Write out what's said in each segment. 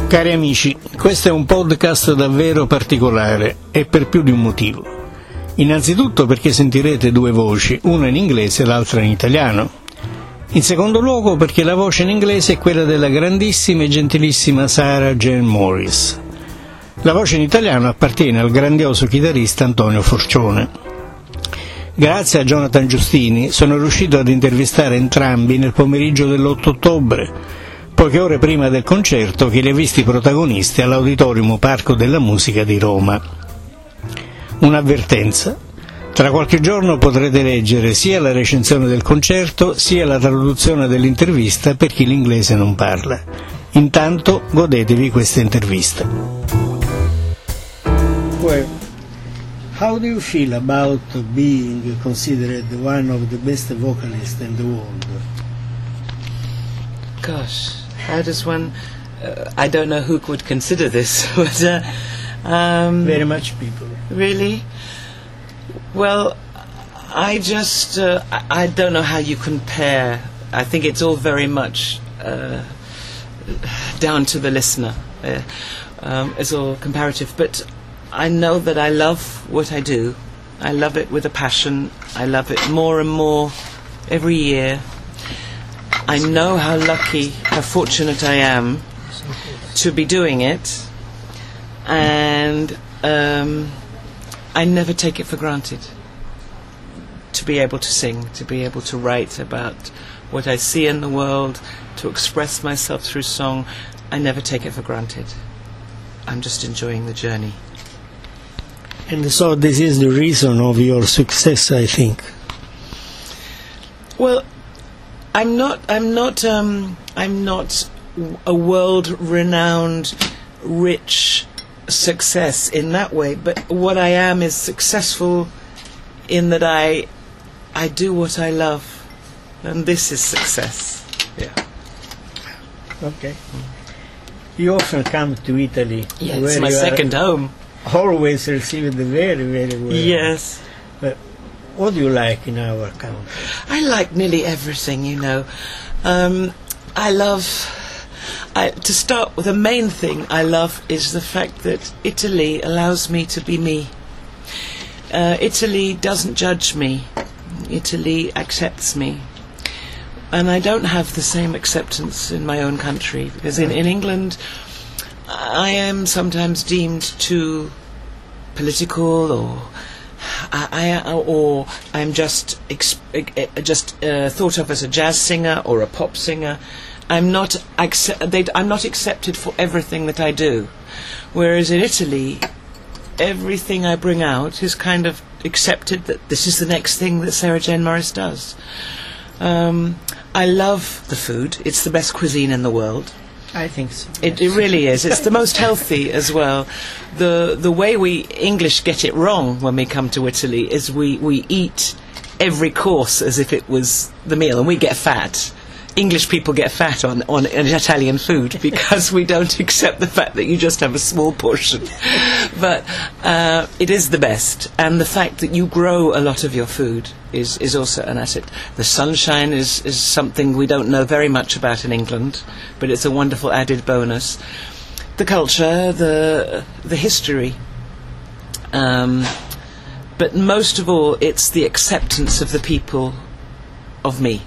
Cari amici, questo è un podcast davvero particolare e per più di un motivo. Innanzitutto perché sentirete due voci, una in inglese e l'altra in italiano. In secondo luogo perché la voce in inglese è quella della grandissima e gentilissima Sarah Jane Morris. La voce in italiano appartiene al grandioso chitarrista Antonio Forcione. Grazie a Jonathan Giustini sono riuscito ad intervistare entrambi nel pomeriggio dell'8 ottobre, poche ore prima del concerto che li ha visti protagonisti all'Auditorium Parco della Musica di Roma. Un'avvertenza: tra qualche giorno potrete leggere sia la recensione del concerto sia la traduzione dell'intervista per chi l'inglese non parla. Intanto godetevi questa intervista. Well, how do you feel about being considered one of the best vocalists in the world? Gosh, how does one... I don't know who would consider this, but... Very much people. Really? Well, I just... I don't know how you compare. I think it's all very much down to the listener. It's all comparative. But I know that I love what I do. I love it with a passion. I love it more and more every year. I know how lucky, how fortunate I am to be doing it, and I never take it for granted to be able to sing, to be able to write about what I see in the world, to express myself through song. I never take it for granted. I'm just enjoying the journey. And so this is the reason of your success, I think. Well, I'm not a world-renowned, rich success in that way. But what I am is successful in that I do what I love, and this is success. Yeah. Okay. You often come to Italy. Yeah, it's my second home. Always received very, very well. Yes. But what do you like in our country? I like nearly everything, you know. To start with, the main thing I love is the fact that Italy allows me to be me. Italy doesn't judge me. Italy accepts me. And I don't have the same acceptance in my own country, because in England I am sometimes deemed too political, or I'm just thought of as a jazz singer or a pop singer. I'm not accepted for everything that I do. Whereas in Italy, everything I bring out is kind of accepted, that this is the next thing that Sarah Jane Morris does. I love the food. It's the best cuisine in the world. I think so. It really is. It's the most healthy as well. The way we English get it wrong when we come to Italy is we eat every course as if it was the meal, and we get fat. English people get fat on Italian food because we don't accept the fact that you just have a small portion. But it is the best, and the fact that you grow a lot of your food is also an asset. The sunshine is something we don't know very much about in England, but it's a wonderful added bonus. The culture, the history, but most of all, it's the acceptance of the people of me.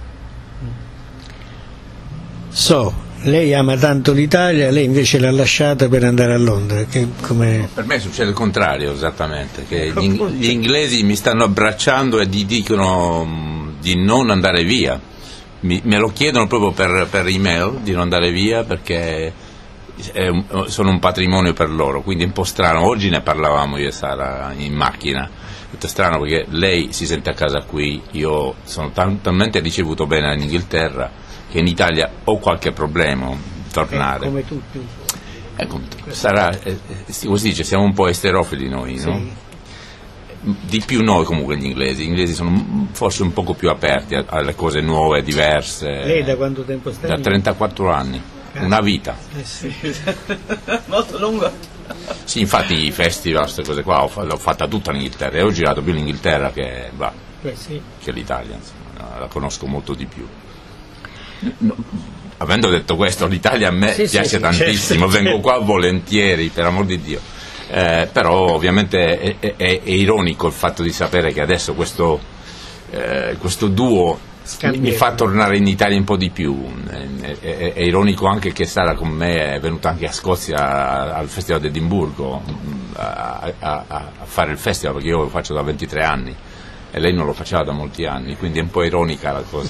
So, lei ama tanto l'Italia, lei invece l'ha lasciata per andare a Londra. Per me succede il contrario, esattamente, che gli inglesi mi stanno abbracciando e gli dicono di non andare via. Me lo chiedono proprio per email di non andare via, perché sono un patrimonio per loro, quindi è un po' strano. Oggi ne parlavamo io e Sara in macchina. È strano perché lei si sente a casa qui, io sono talmente ricevuto bene in Inghilterra che in Italia ho qualche problema tornare. Come tutti. Sarà, come si dice, siamo un po' esterofili noi, sì. No? Di più noi comunque gli inglesi sono forse un poco più aperti alle cose nuove, diverse. Lei da quanto tempo sta? Da 34 anni, una vita. Sì. Molto lungo. Sì, infatti i festival, queste cose qua l'ho fatta tutta in Inghilterra, e ho girato più l'Inghilterra che sì. l'Italia, insomma, la conosco molto di più. No, avendo detto questo, l'Italia a me piace tantissimo, certo. Vengo qua volentieri, per amor di Dio. Però ovviamente è ironico il fatto di sapere che adesso questo duo mi fa tornare in Italia un po' di più. È ironico anche che Sara con me è venuta anche a Scozia al Festival di Edimburgo a fare il festival, perché io lo faccio da 23 anni e lei non lo faceva da molti anni, quindi è un po' ironica la cosa.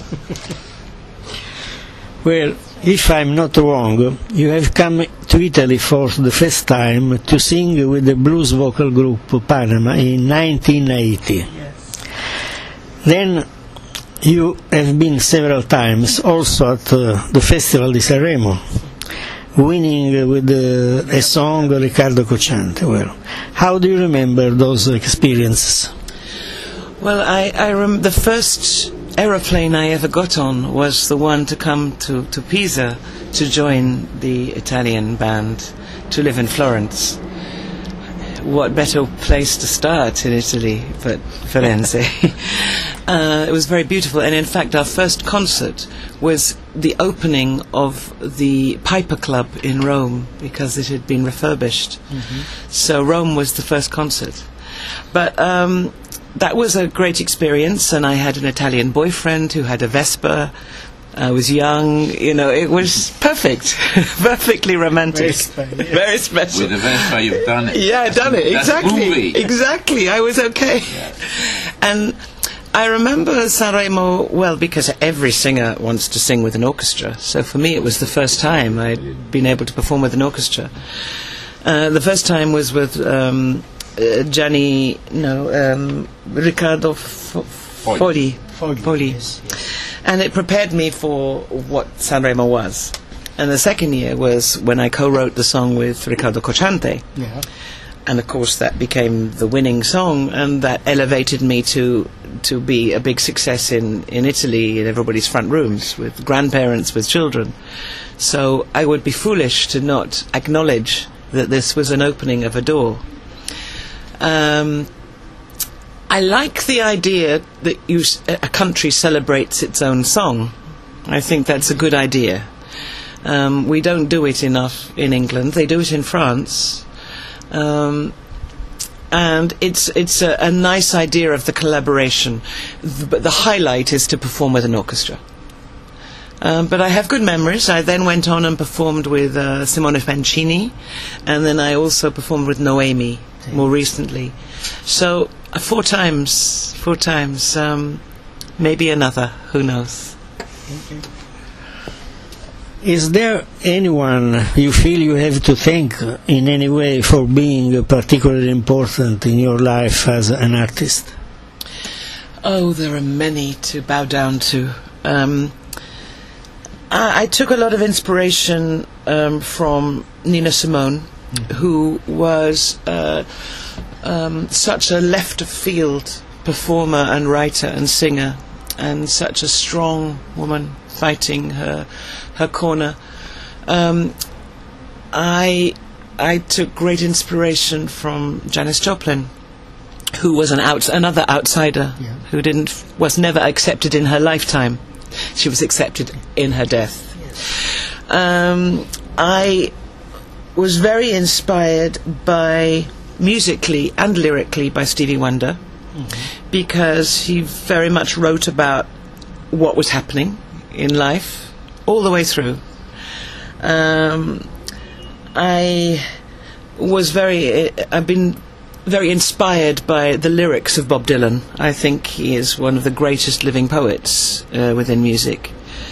Well, if I'm not wrong, you have come to Italy for the first time to sing with the blues vocal group Panama in 1980. Yes. Then you have been several times also at the Festival di Sanremo, winning with a song Riccardo Cocciante. Well, how do you remember those experiences? Well, I the first aeroplane I ever got on was the one to come to Pisa to join the Italian band, to live in Florence. What better place to start in Italy but Firenze? It was very beautiful, and in fact our first concert was the opening of the Piper Club in Rome, because it had been refurbished. Mm-hmm. So Rome was the first concert. But that was a great experience, and I had an Italian boyfriend who had a Vespa. I was young, it was perfect. Perfectly romantic. Very special. With the Vespa you've done it. Yeah, I've done it. Exactly. I was okay. Yeah. And I remember Sanremo well because every singer wants to sing with an orchestra. So for me it was the first time I'd been able to perform with an orchestra. The first time was with Riccardo Fogli. Yes. And it prepared me for what Sanremo was. And the second year was when I co-wrote the song with Riccardo Cocciante. Yeah. And of course that became the winning song, and that elevated me to be a big success in Italy, in everybody's front rooms, with grandparents, with children. So I would be foolish to not acknowledge that this was an opening of a door. I like the idea that a country celebrates its own song. I think that's a good idea. We don't do it enough in England. They do it in France. And it's a nice idea of the collaboration. But the highlight is to perform with an orchestra. But I have good memories. I then went on and performed with Simone Pancini, and then I also performed with Noemi more recently. So 4 times, maybe another, who knows. Okay. Is there anyone you feel you have to thank in any way for being particularly important in your life as an artist? Oh, there are many to bow down to. I took a lot of inspiration from Nina Simone, who was such a left-of-field performer and writer and singer, and such a strong woman fighting her corner. I took great inspiration from Janis Joplin, who was another outsider, who was never accepted in her lifetime. She was accepted in her death. I was very inspired musically and lyrically by Stevie Wonder, because he very much wrote about what was happening in life all the way through. I've been very inspired by the lyrics of Bob Dylan. I think he is one of the greatest living poets within music.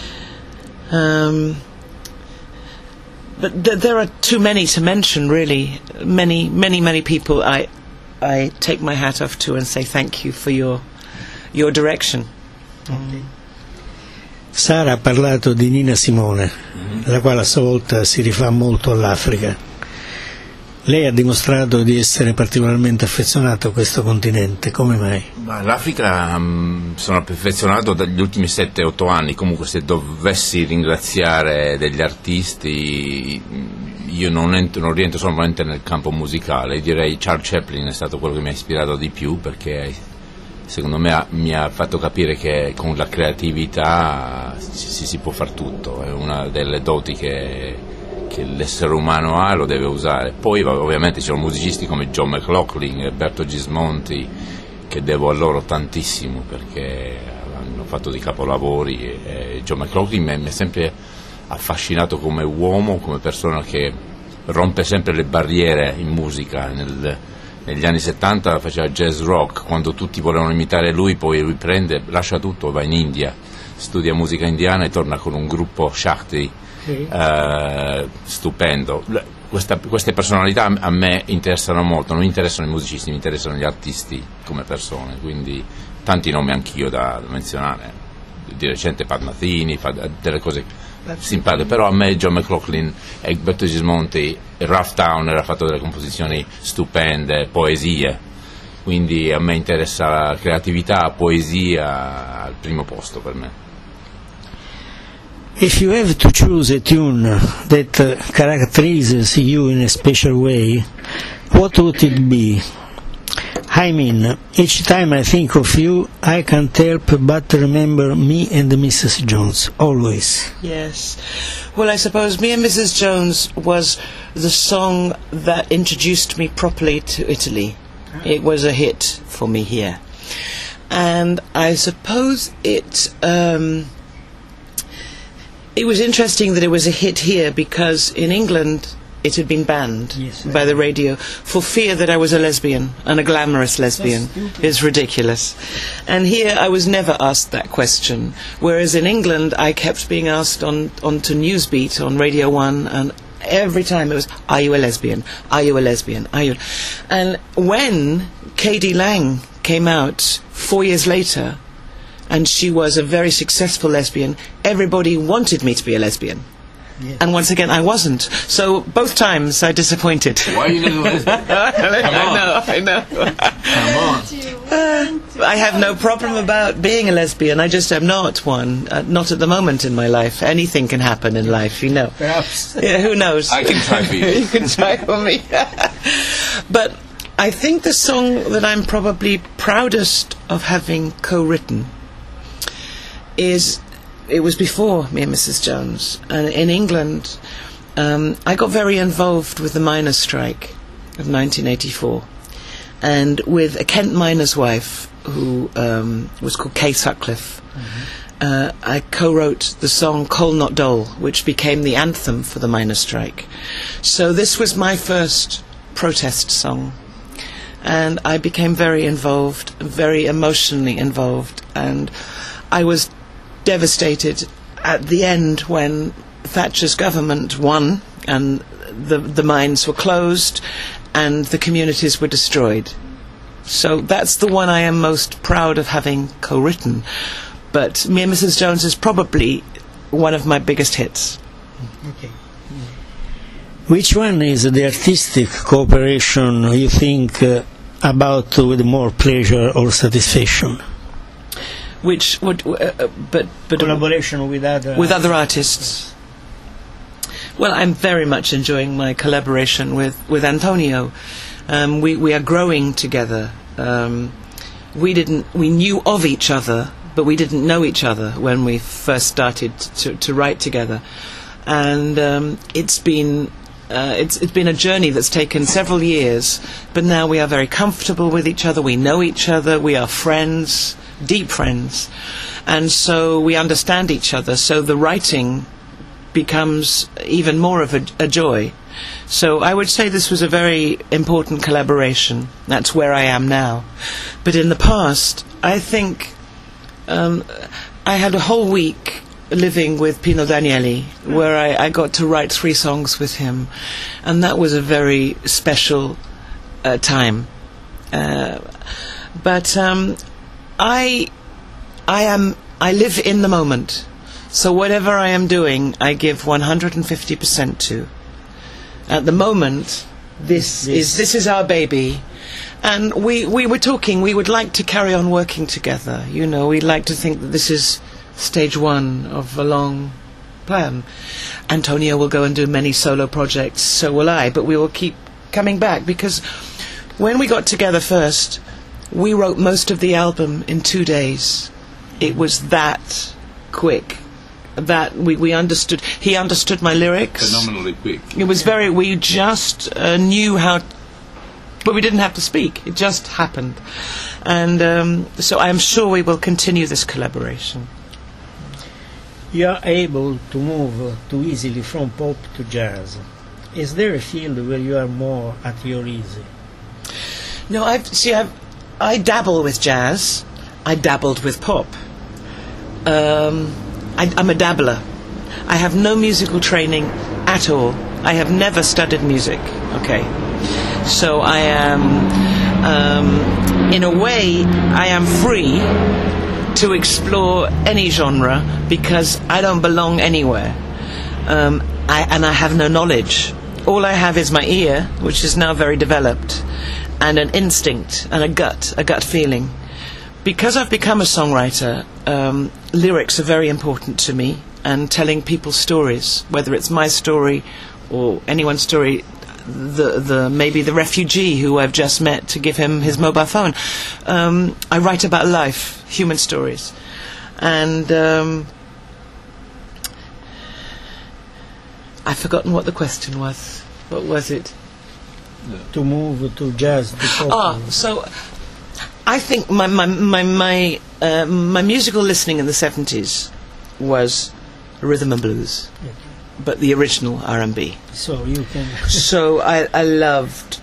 But there are too many to mention, really. Many people I take my hat off to and say thank you for your direction. Okay. Sara ha parlato di Nina Simone, la quale a sua volta si rifà molto all'Africa. Lei ha dimostrato di essere particolarmente affezionato a questo continente, come mai? L'Africa sono affezionato dagli ultimi 7-8 anni. Comunque, se dovessi ringraziare degli artisti, io non rientro solamente nel campo musicale. Direi Charles Chaplin è stato quello che mi ha ispirato di più, perché secondo me mi ha fatto capire che con la creatività si può far tutto, è una delle doti che l'essere umano ha, lo deve usare. Poi ovviamente c'erano musicisti come John McLaughlin e Berto Gismonti, che devo a loro tantissimo perché hanno fatto dei capolavori, e John McLaughlin mi è sempre affascinato come uomo, come persona che rompe sempre le barriere in musica. Negli anni 70 faceva jazz rock, quando tutti volevano imitare lui, poi lui lascia tutto, va in India, studia musica indiana e torna con un gruppo Shakti stupendo. Queste personalità a me interessano molto, non mi interessano i musicisti, mi interessano gli artisti come persone, quindi tanti nomi anch'io da menzionare, di recente Pat Metheny fa delle cose simpatiche, però a me John McLaughlin e Berto Gismonti, Rough Town era fatto delle composizioni stupende, poesie, quindi a me interessa la creatività, poesia al primo posto per me. If you have to choose a tune that characterizes you in a special way, what would it be? I mean, each time I think of you, I can't help but remember Me and Mrs. Jones, always. Yes. Well, I suppose Me and Mrs. Jones was the song that introduced me properly to Italy. It was a hit for me here. And I suppose it was interesting that it was a hit here because in England it had been banned by the radio for fear that I was a lesbian, and a glamorous lesbian. It's ridiculous. And here I was never asked that question, whereas in England I kept being asked on to Newsbeat on Radio 1, and every time it was, are you a lesbian? Are you a lesbian? Are you? And when K.D. Lang came out 4 years later, and she was a very successful lesbian, everybody wanted me to be a lesbian. Yeah. And once again, I wasn't. So both times I disappointed. Why are you not a lesbian? I know. Come on. I have no problem about being a lesbian. I just am not one. Not at the moment in my life. Anything can happen in life, you know. Perhaps. Yeah, who knows? I can try for you. You can try for me. But I think the song that I'm probably proudest of having co-written it was before Me and Mrs. Jones. And in England, I got very involved with the miners' strike of 1984, and with a Kent miner's wife who was called Kay Sutcliffe. I co-wrote the song Coal Not Dole, which became the anthem for the miners' strike. So this was my first protest song, and I became very involved, very emotionally involved, and I was devastated at the end when Thatcher's government won and the mines were closed and the communities were destroyed. So that's the one I am most proud of having co-written. But Me and Mrs. Jones is probably one of my biggest hits. Okay. Which one is the artistic cooperation you think about with more pleasure or satisfaction? Which would, but collaboration with other artists. Well, I'm very much enjoying my collaboration with Antonio. We are growing together. We knew of each other, but we didn't know each other when we first started to write together. And it's been a journey that's taken several years, but now we are very comfortable with each other. We know each other. We are friends. Deep friends, and so we understand each other, so the writing becomes even more of a joy. So I would say this was a very important collaboration. That's where I am now. But in the past, I think I had a whole week living with Pino Danieli, where I got to write 3 songs with him, and that was a very special time. But I live in the moment, so whatever I am doing, I give 150% to. At the moment, this is our baby, and we were talking. We would like to carry on working together. You know, we'd like to think that this is stage 1 of a long plan. Antonio will go and do many solo projects, so will I. But we will keep coming back, because when we got together first, we wrote most of the album in 2 days. It was that quick. That we understood. He understood my lyrics. Phenomenally quick. It was very. We just knew how, but we didn't have to speak. It just happened, and so I'm sure we will continue this collaboration. You are able to move too easily from pop to jazz. Is there a field where you are more at your ease? No, I dabble with jazz. I dabbled with pop. I'm a dabbler. I have no musical training at all. I have never studied music. Okay, so I am, in a way, I am free to explore any genre because I don't belong anywhere. I have no knowledge. All I have is my ear, which is now very developed, and an instinct and a gut feeling. Because I've become a songwriter, lyrics are very important to me, and telling people's stories, whether it's my story or anyone's story. Maybe the refugee who I've just met to give him his mobile phone. I write about life, human stories, and I've forgotten what the question was. What was it? To move to jazz. To pop. So I think my musical listening in the 70s was rhythm and blues. Yeah. But the original R&B. So you can. So I loved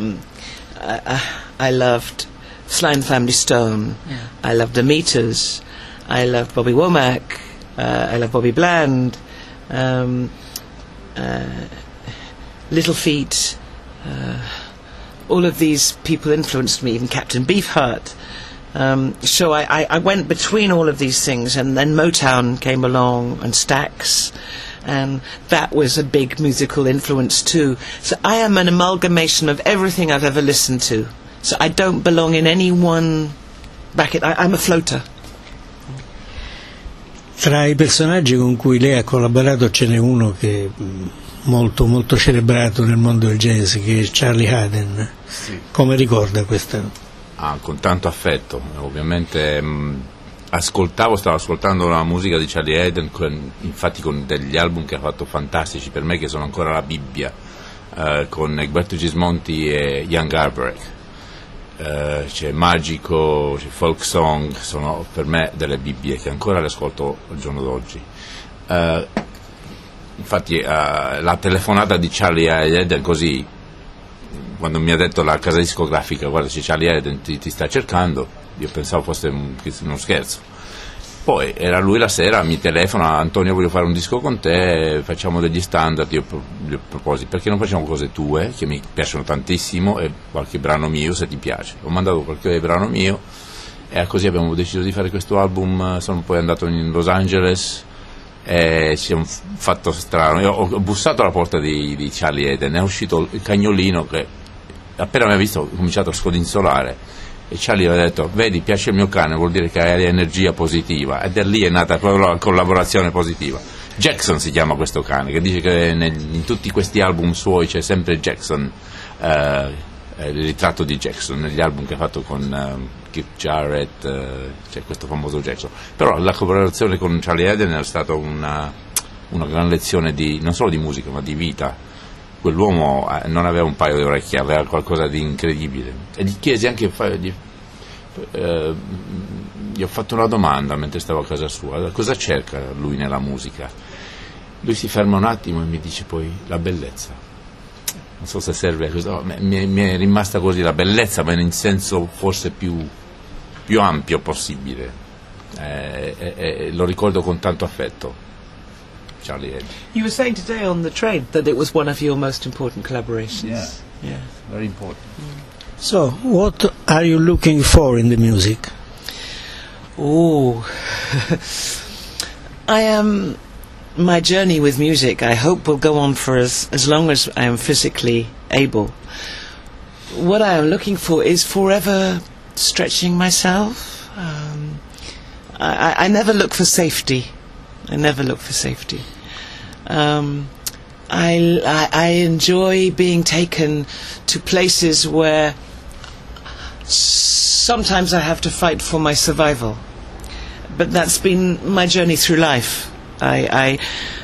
I loved Sly and Family Stone. Yeah. I loved the Meters. I loved Bobby Womack. I loved Bobby Bland. Little Feat. All of these people influenced me. Even Captain Beefheart. So I went between all of these things, and then Motown came along and Stax. And that was a big musical influence too. So I am an amalgamation of everything I've ever listened to. So I don't belong in any one bracket. I'm a floater. Tra i personaggi con cui lei ha collaborato ce n'è uno che è molto molto celebrato nel mondo del jazz, che è Charlie Haden. Sì. Come ricorda questa? Con tanto affetto, ovviamente. Stavo ascoltando la musica di Charlie Haden, infatti con degli album che ha fatto fantastici per me, che sono ancora la Bibbia, con Egberto Gismonti e Young Albrecht. C'è Magico, c'è Folk Song, sono per me delle Bibbie che ancora le ascolto al giorno d'oggi. Infatti la telefonata di Charlie Haden, così, quando mi ha detto la casa discografica, guarda, c'è Charlie Haden, ti sta cercando, io pensavo fosse uno scherzo. Poi era lui la sera, mi telefona: Antonio, voglio fare un disco con te, facciamo degli standard. Io gli proposi: perché non facciamo cose tue, che mi piacciono tantissimo, e qualche brano mio se ti piace. Ho mandato qualche brano mio e così abbiamo deciso di fare questo album. Sono poi andato in Los Angeles e ci siamo fatto strano. Io ho bussato alla porta di Charlie Haden, è uscito il cagnolino che appena mi ha visto ha cominciato a scodinzolare. E Charlie aveva detto: vedi, piace il mio cane, vuol dire che hai energia positiva. Ed è lì è nata proprio la collaborazione positiva. Jackson si chiama questo cane, che dice che in tutti questi album suoi c'è sempre Jackson, il ritratto di Jackson negli album che ha fatto con Keith Jarrett, c'è questo famoso Jackson. Però la collaborazione con Charlie Haden è stata una gran lezione non solo di musica ma di vita. Quell'uomo non aveva un paio di orecchie, aveva qualcosa di incredibile. E gli chiesi anche, gli ho fatto una domanda mentre stavo a casa sua: cosa cerca lui nella musica? Lui si ferma un attimo e mi dice poi: la bellezza. Non so se serve a questo, mi è rimasta così, la bellezza, ma in senso forse più ampio possibile. Lo ricordo con tanto affetto. Charlie Haden. You were saying today on the train that it was one of your most important collaborations. Yeah. Very important. So, what are you looking for in the music? Oh, my journey with music, I hope, will go on for as long as I am physically able. What I am looking for is forever stretching myself. I never look for safety. I enjoy being taken to places where Sometimes I have to fight for my survival, but that's been my journey through life. I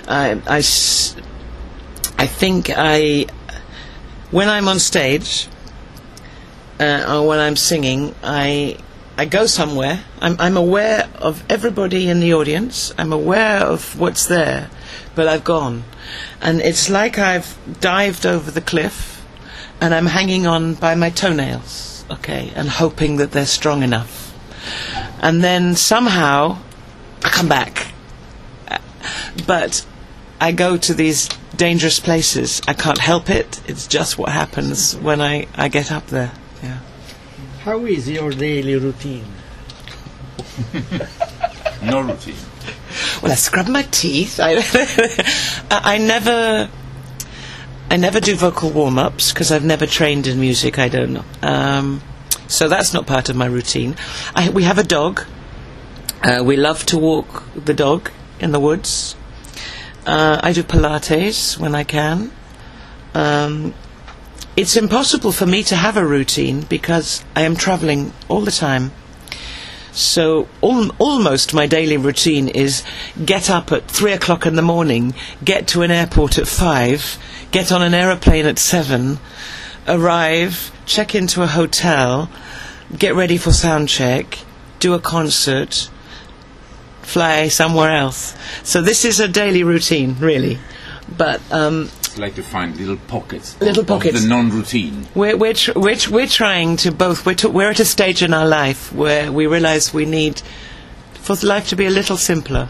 think when I'm on stage or when I'm singing, I go somewhere. I'm aware of everybody in the audience. I'm aware of what's there, but I've gone. And it's like I've dived over the cliff and I'm hanging on by my toenails, okay, and hoping that they're strong enough. And then somehow I come back. But I go to these dangerous places. I can't help it. It's just what happens when I get up there. Yeah. How is your daily routine? No routine. Well, I scrub my teeth. I never do vocal warm-ups because I've never trained in music. I don't know. So that's not part of my routine. We have a dog. We love to walk the dog in the woods. I do Pilates when I can. It's impossible for me to have a routine because I am travelling all the time. So almost my daily routine is get up at 3 o'clock in the morning, get to an airport at 5, get on an aeroplane at 7, arrive, check into a hotel, get ready for sound check, do a concert, fly somewhere else. So this is a daily routine, really. But It's like to find little pockets. Little of pockets. the non-routine. We're trying to both. We're at a stage in our life where we realise we need for life to be a little simpler,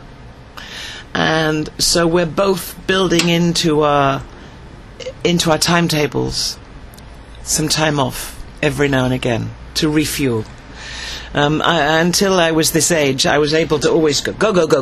and so we're both building into our timetables some time off every now and again to refuel. Until I was this age, I was able to always go,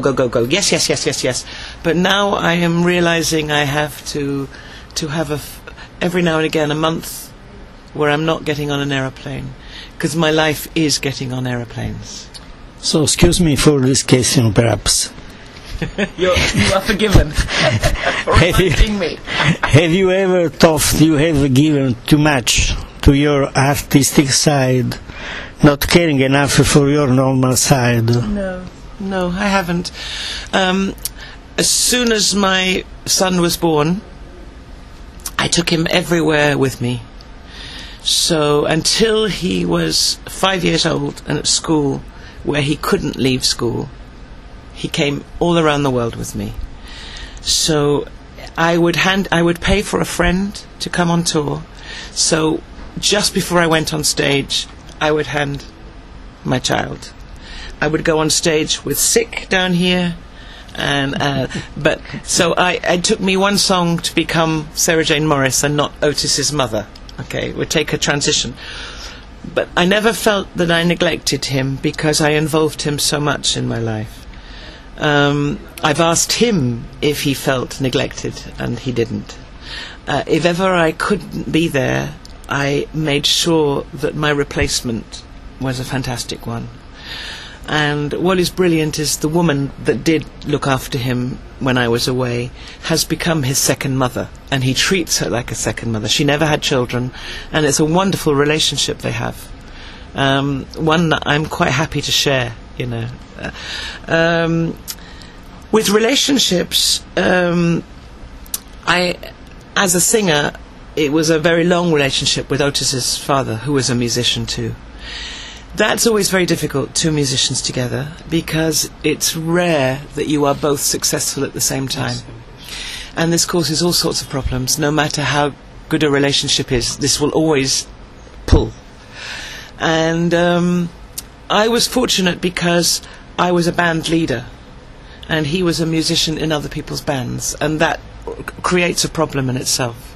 yes. But now I am realising I have to have every now and again a month where I'm not getting on an aeroplane, because my life is getting on aeroplanes. So, excuse me for this question, perhaps. You are forgiven for reminding me. Have you ever thought you have given too much to your artistic side, not caring enough for your normal side? No, I haven't. As soon as my son was born, I took him everywhere with me. So until he was 5 years old and at school, where he couldn't leave school, he came all around the world with me. So I would pay for a friend to come on tour. So just before I went on stage, I would hand my child. I would go on stage with Sick down here, but so it took me one song to become Sarah Jane Morris and not Otis's mother. Okay, it would take a transition. But I never felt that I neglected him because I involved him so much in my life. I've asked him if he felt neglected, and he didn't. If ever I couldn't be there, I made sure that my replacement was a fantastic one. And what is brilliant is the woman that did look after him when I was away has become his second mother, and he treats her like a second mother. She never had children, and it's a wonderful relationship they have. One that I'm quite happy to share, you know. With relationships, as a singer, it was a very long relationship with Otis's father, who was a musician too. That's always very difficult, two musicians together, because it's rare that you are both successful at the same time. And this causes all sorts of problems. No matter how good a relationship is, this will always pull. And I was fortunate because I was a band leader, and he was a musician in other people's bands, and that creates a problem in itself.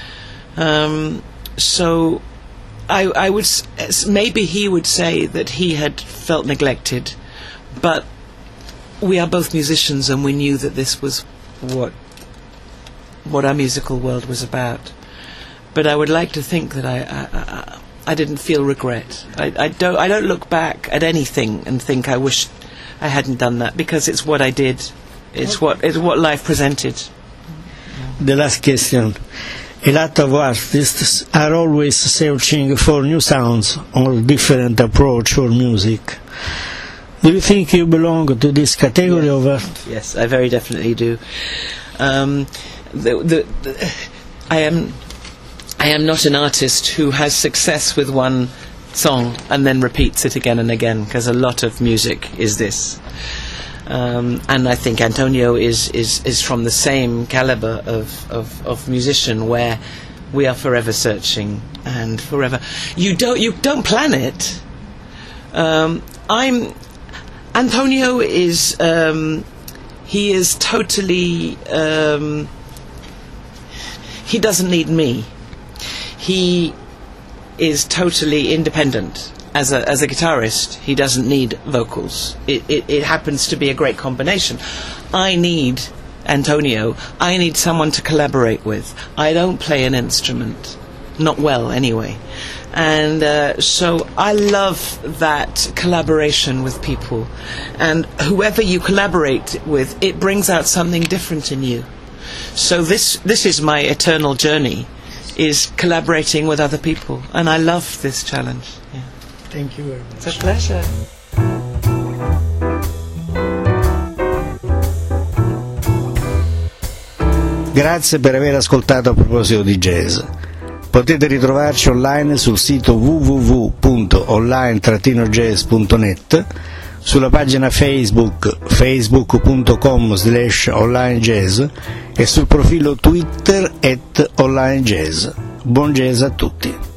So I would maybe he would say that he had felt neglected, but we are both musicians, and we knew that this was what our musical world was about. But I would like to think that I didn't feel regret. I don't look back at anything and think I wish I hadn't done that, because it's what I did. It's what life presented. The last question. A lot of artists are always searching for new sounds or different approach for music. Do you think you belong to this category of art? Yes, I very definitely do. I am not an artist who has success with one song and then repeats it again and again, because a lot of music is this. And I think Antonio is from the same caliber of musician, where we are forever searching and forever. You don't plan it. Antonio is he is totally he doesn't need me. He is totally independent. As a guitarist, he doesn't need vocals. It happens to be a great combination. I need Antonio. I need someone to collaborate with. I don't play an instrument, not well anyway. And so I love that collaboration with people. And whoever you collaborate with, it brings out something different in you. So this is my eternal journey, is collaborating with other people. And I love this challenge. Yeah. Thank you very much. It's a pleasure. Grazie per aver ascoltato A Proposito di Jazz. Potete ritrovarci online sul sito www.online-jazz.net, sulla pagina Facebook facebook.com/onlinejazz e sul profilo Twitter @onlinejazz. Buon jazz a tutti.